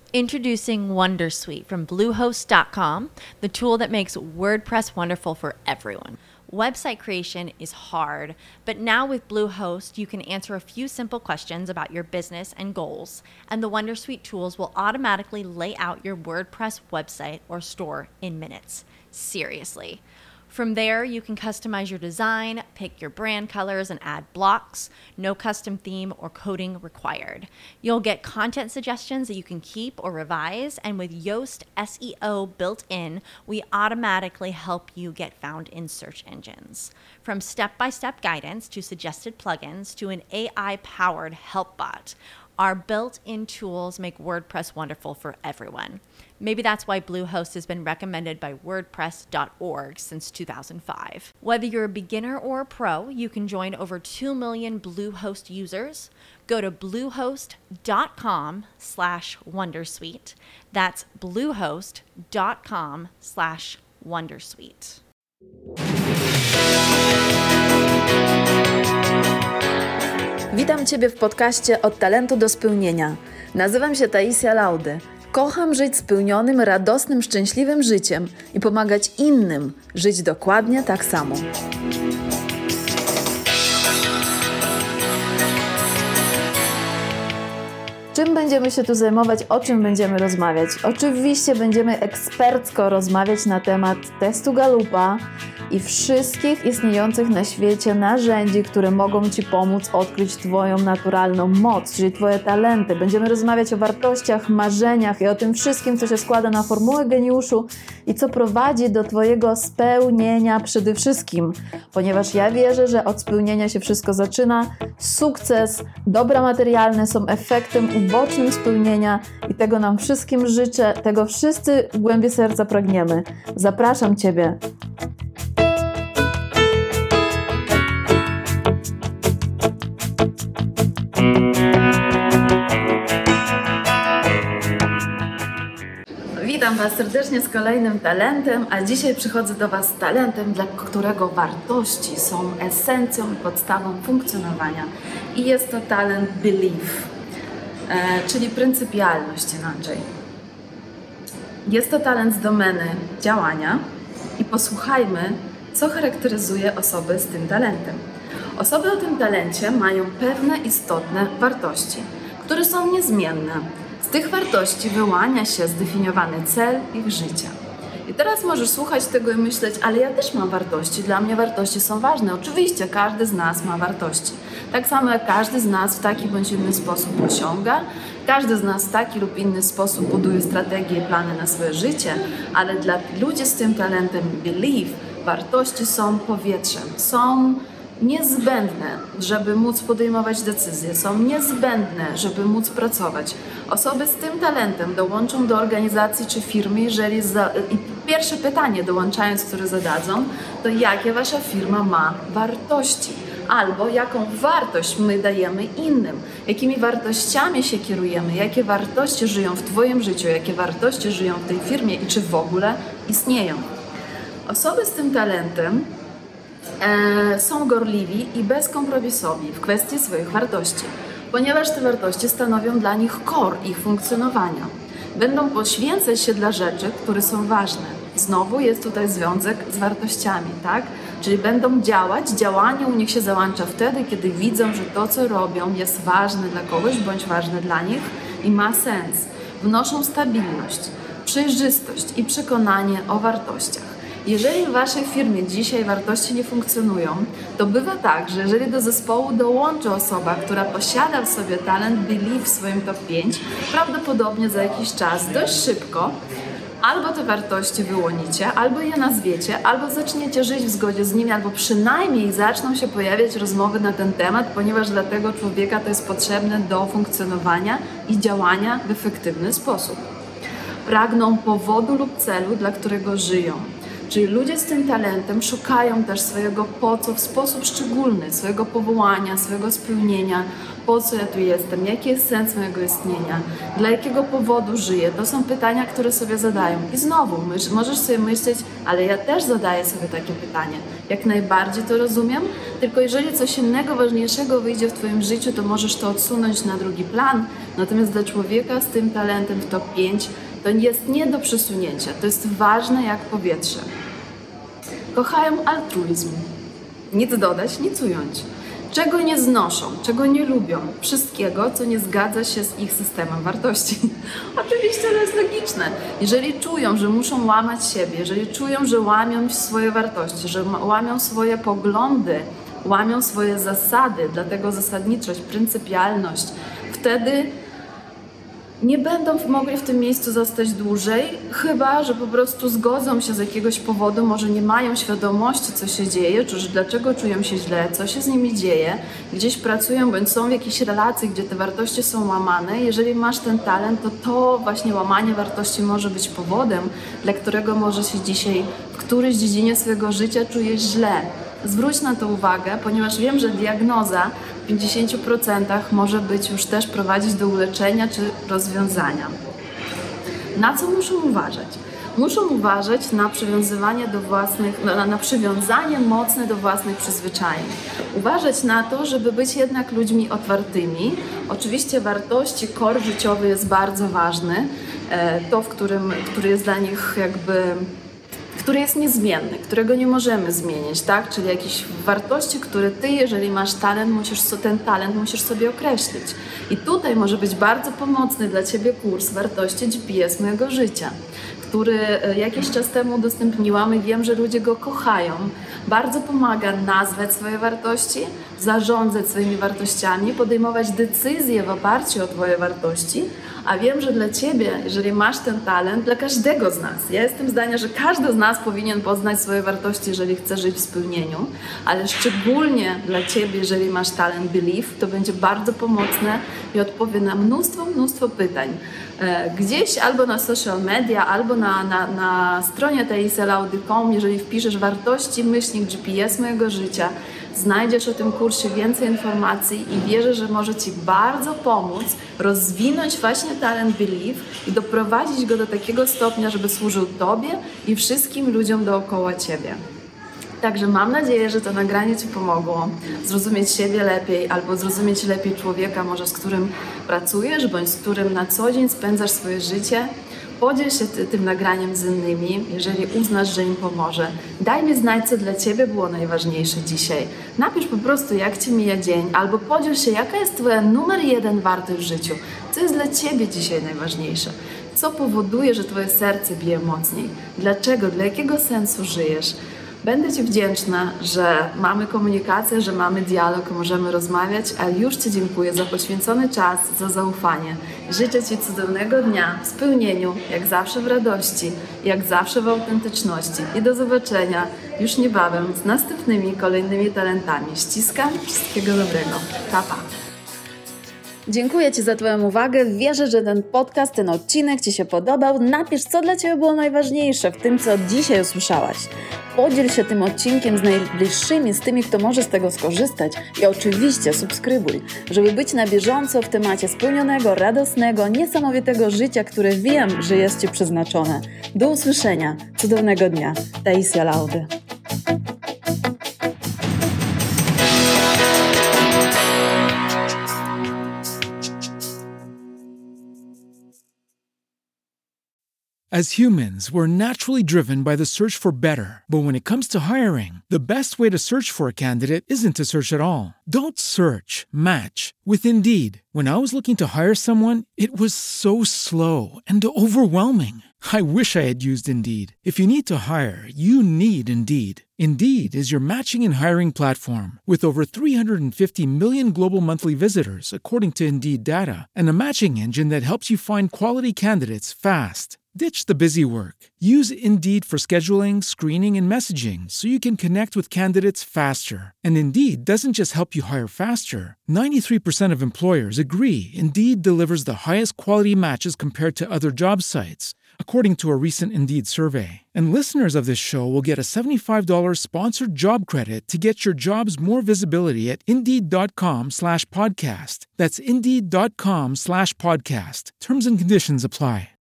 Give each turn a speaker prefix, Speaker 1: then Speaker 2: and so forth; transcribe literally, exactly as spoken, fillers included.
Speaker 1: Introducing Wondersuite from Bluehost dot com, the tool that makes WordPress wonderful for everyone. Website creation is hard, but now with Bluehost, you can answer a few simple questions about your business and goals, and the Wondersuite tools will automatically lay out your WordPress website or store in minutes. Seriously. From there, you can customize your design, pick your brand colors, and add blocks. No custom theme or coding required. You'll get content suggestions that you can keep or revise, and with Yoast S E O built in, we automatically help you get found in search engines. From step-by-step guidance to suggested plugins to an A I-powered help bot, our built-in tools make WordPress wonderful for everyone. Maybe that's why Bluehost has been recommended by WordPress dot org since two thousand five. Whether you're a beginner or a pro, you can join over two million Bluehost users. Go to bluehost dot com slash wondersuite. That's bluehost dot com slash wondersuite.
Speaker 2: Witam Ciebie w podcaście Od talentu do spełnienia. Nazywam się Taisia Laudy. Kocham żyć spełnionym, radosnym, szczęśliwym życiem i pomagać innym żyć dokładnie tak samo. Czym będziemy się tu zajmować, o czym będziemy rozmawiać? Oczywiście będziemy ekspercko rozmawiać na temat testu Gallupa i wszystkich istniejących na świecie narzędzi, które mogą Ci pomóc odkryć Twoją naturalną moc, czyli Twoje talenty. Będziemy rozmawiać o wartościach, marzeniach i o tym wszystkim, co się składa na formułę geniuszu i co prowadzi do Twojego spełnienia przede wszystkim. Ponieważ ja wierzę, że od spełnienia się wszystko zaczyna. Sukces, dobra materialne są efektem ubocznym spełnienia i tego nam wszystkim życzę, tego wszyscy w głębi serca pragniemy. Zapraszam Ciebie. Witam Was serdecznie z kolejnym talentem, a dzisiaj przychodzę do Was z talentem, dla którego wartości są esencją i podstawą funkcjonowania. I jest to talent belief, e, czyli pryncypialność inaczej. Jest to talent z domeny działania i posłuchajmy, co charakteryzuje osoby z tym talentem. Osoby o tym talencie mają pewne istotne wartości, które są niezmienne. Z tych wartości wyłania się zdefiniowany cel ich życia. I teraz możesz słuchać tego i myśleć, ale ja też mam wartości, dla mnie wartości są ważne. Oczywiście każdy z nas ma wartości. Tak samo jak każdy z nas w taki bądź inny sposób osiąga, każdy z nas w taki lub inny sposób buduje strategie i plany na swoje życie, ale dla ludzi z tym talentem belief wartości są powietrzem, są niezbędne, żeby móc podejmować decyzje, są niezbędne, żeby móc pracować. Osoby z tym talentem dołączą do organizacji czy firmy, jeżeli za... I pierwsze pytanie dołączając, które zadadzą, to jakie Wasza firma ma wartości? Albo jaką wartość my dajemy innym? Jakimi wartościami się kierujemy? Jakie wartości żyją w Twoim życiu? Jakie wartości żyją w tej firmie i czy w ogóle istnieją? Osoby z tym talentem E, są gorliwi i bezkompromisowi w kwestii swoich wartości, ponieważ te wartości stanowią dla nich core ich funkcjonowania. Będą poświęcać się dla rzeczy, które są ważne. Znowu jest tutaj związek z wartościami, tak? Czyli będą działać, działanie u nich się załącza wtedy, kiedy widzą, że to, co robią, jest ważne dla kogoś bądź ważne dla nich i ma sens. Wnoszą stabilność, przejrzystość i przekonanie o wartościach. Jeżeli w Waszej firmie dzisiaj wartości nie funkcjonują, to bywa tak, że jeżeli do zespołu dołączy osoba, która posiada w sobie talent belief w swoim top pięć, prawdopodobnie za jakiś czas, dość szybko, albo te wartości wyłonicie, albo je nazwiecie, albo zaczniecie żyć w zgodzie z nimi, albo przynajmniej zaczną się pojawiać rozmowy na ten temat, ponieważ dla tego człowieka to jest potrzebne do funkcjonowania i działania w efektywny sposób. Pragną powodu lub celu, dla którego żyją. Czyli ludzie z tym talentem szukają też swojego po co w sposób szczególny, swojego powołania, swojego spełnienia, po co ja tu jestem, jaki jest sens mojego istnienia, dla jakiego powodu żyję. To są pytania, które sobie zadają. I znowu, mysz, możesz sobie myśleć, ale ja też zadaję sobie takie pytanie. Jak najbardziej to rozumiem, tylko jeżeli coś innego, ważniejszego wyjdzie w Twoim życiu, to możesz to odsunąć na drugi plan. Natomiast dla człowieka z tym talentem w top pięć to jest nie do przesunięcia. To jest ważne jak powietrze. Kochają altruizm. Nic dodać, nic ująć. Czego nie znoszą, czego nie lubią, wszystkiego, co nie zgadza się z ich systemem wartości. Oczywiście to jest logiczne. Jeżeli czują, że muszą łamać siebie, jeżeli czują, że łamią swoje wartości, że łamią swoje poglądy, łamią swoje zasady, dlatego zasadniczość, pryncypialność, wtedy nie będą mogli w tym miejscu zostać dłużej, chyba że po prostu zgodzą się z jakiegoś powodu, może nie mają świadomości, co się dzieje, czy że dlaczego czują się źle, co się z nimi dzieje, gdzieś pracują, bądź są w jakiejś relacji, gdzie te wartości są łamane. Jeżeli masz ten talent, to to właśnie łamanie wartości może być powodem, dla którego może się dzisiaj w którejś dziedzinie swojego życia czujesz źle. Zwróć na to uwagę, ponieważ wiem, że diagnoza w pięćdziesięciu procentach może być już też prowadzić do uleczenia czy rozwiązania. Na co muszą uważać? Muszą uważać na przywiązywanie do własnych, na, na przywiązanie mocne do własnych przyzwyczajeń. Uważać na to, żeby być jednak ludźmi otwartymi. Oczywiście wartości, core życiowy jest bardzo ważny. To, w którym, który jest dla nich jakby... który jest niezmienny, którego nie możemy zmienić, tak? Czyli jakieś wartości, które ty, jeżeli masz talent, musisz, ten talent musisz sobie określić. I tutaj może być bardzo pomocny dla ciebie kurs wartości G P S mojego życia, który jakiś czas temu udostępniłam i wiem, że ludzie go kochają. Bardzo pomaga nazwać swoje wartości, zarządzać swoimi wartościami, podejmować decyzje w oparciu o twoje wartości, a wiem, że dla ciebie, jeżeli masz ten talent, dla każdego z nas, ja jestem zdania, że każdy z nas powinien poznać swoje wartości, jeżeli chce żyć w spełnieniu, ale szczególnie dla ciebie, jeżeli masz talent Believe, to będzie bardzo pomocne i odpowie na mnóstwo, mnóstwo pytań. Gdzieś albo na social media, albo na, na, na stronie taisialaudy kropka com, jeżeli wpiszesz wartości, myślnik G P S mojego życia, znajdziesz o tym kursie więcej informacji i wierzę, że może ci bardzo pomóc rozwinąć właśnie talent Believe i doprowadzić go do takiego stopnia, żeby służył tobie i wszystkim ludziom dookoła ciebie. Także mam nadzieję, że to nagranie ci pomogło zrozumieć siebie lepiej albo zrozumieć lepiej człowieka, może z którym pracujesz, bądź z którym na co dzień spędzasz swoje życie. Podziel się ty, tym nagraniem z innymi, jeżeli uznasz, że im pomoże. Daj mi znać, co dla ciebie było najważniejsze dzisiaj. Napisz po prostu, jak ci mija dzień, albo podziel się, jaka jest twoja numer jeden wartość w życiu. Co jest dla ciebie dzisiaj najważniejsze? Co powoduje, że twoje serce bije mocniej? Dlaczego? Dla jakiego sensu żyjesz? Będę ci wdzięczna, że mamy komunikację, że mamy dialog, możemy rozmawiać, a już ci dziękuję za poświęcony czas, za zaufanie. Życzę ci cudownego dnia w spełnieniu, jak zawsze w radości, jak zawsze w autentyczności. I do zobaczenia już niebawem z następnymi, kolejnymi talentami. Ściskam, wszystkiego dobrego. Pa, pa. Dziękuję ci za twoją uwagę. Wierzę, że ten podcast, ten odcinek ci się podobał. Napisz, co dla ciebie było najważniejsze w tym, co dzisiaj usłyszałaś. Podziel się tym odcinkiem z najbliższymi, z tymi, kto może z tego skorzystać i oczywiście subskrybuj, żeby być na bieżąco w temacie spełnionego, radosnego, niesamowitego życia, które wiem, że jest ci przeznaczone. Do usłyszenia. Cudownego dnia. Taisia Laudy.
Speaker 3: As humans, we're naturally driven by the search for better. But when it comes to hiring, the best way to search for a candidate isn't to search at all. Don't search, match with Indeed. When I was looking to hire someone, it was so slow and overwhelming. I wish I had used Indeed. If you need to hire, you need Indeed. Indeed is your matching and hiring platform with over three hundred fifty million global monthly visitors, according to Indeed data, and a matching engine that helps you find quality candidates fast. Ditch the busy work. Use Indeed for scheduling, screening, and messaging so you can connect with candidates faster. And Indeed doesn't just help you hire faster. ninety-three percent of employers agree Indeed delivers the highest quality matches compared to other job sites, according to a recent Indeed survey. And listeners of this show will get a seventy-five dollars sponsored job credit to get your jobs more visibility at Indeed.com slash podcast. That's Indeed.com slash podcast. Terms and conditions apply.